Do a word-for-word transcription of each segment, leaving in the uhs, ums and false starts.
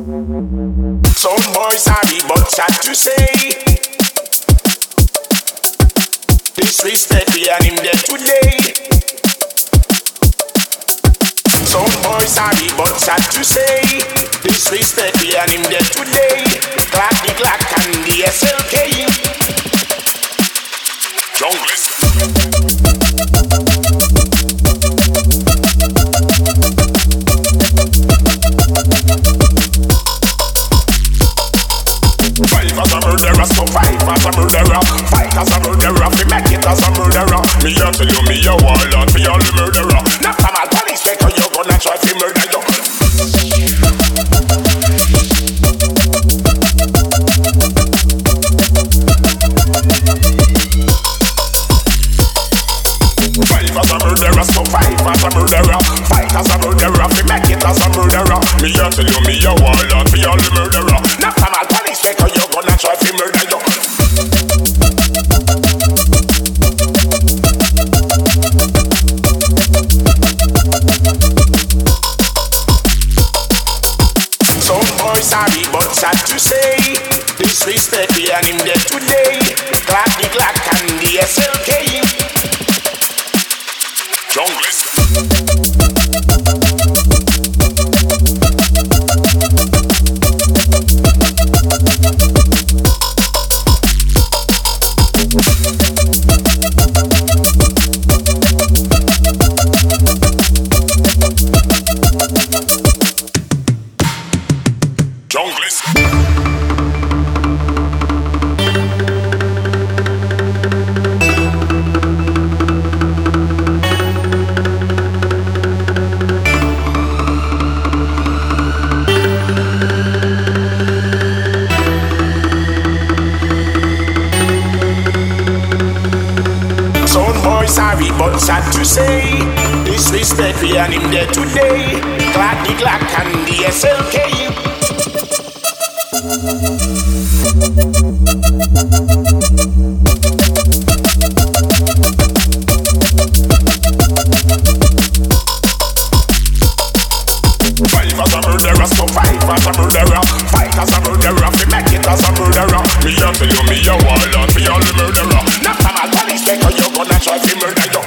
Some boys sorry, but sad to say. Disrespect me and him dead today. Some boys sorry, but sad to say. Disrespect me and him dead today. Clack the Glock and the S L K. Junglist. Five as a murderer, so five as a murderer. Fight as a murderer, fi make it as a murderer. Me a tell you, me a warlord fi all the murderer. Not from a police maker, you gonna try fi murder you. Five as a murderer, so five as a murderer. Fight as a murderer, fi make it as a murderer. Me a tell you, me a warlord fi all the murderer. Not from a police maker, you gonna try fi murder you. Some boys sorry, but sad to say. Disrespect me and him dead today. Clack the Glock and the S L K. Junglist. Junglist. Some boys sorry, but sad to say. Disrespect me and him dead today. Clack the Glock and the S L K. Five as a murderer, so five as a murderer. Fight as a murderer, fi make it as a murderer. Me a tell you, me a warlord fi all the murderer. Not from a police maker, you gonna try fi murder you.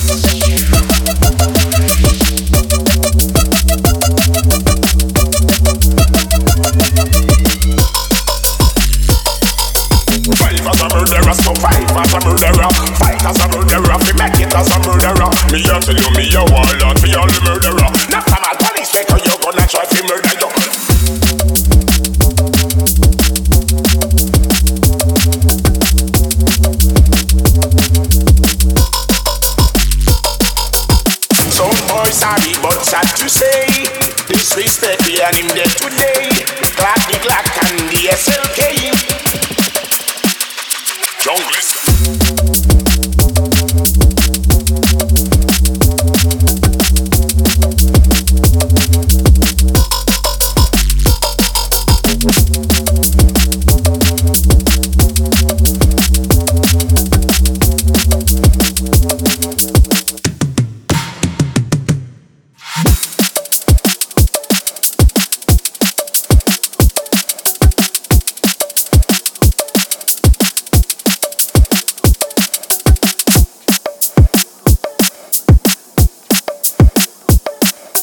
Five as a murderer, so five as a murderer. Fight as a murderer, fi make it as a murderer. Me a tell you, me a warlord fi all the murderer. Not from a police maker, you gonna try fi murder you. Some boys sorry, but sad to say. Disrespect me and him dead today. Clack the Glock and the S L K. Junglist.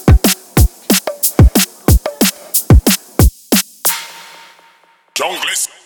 Junglist.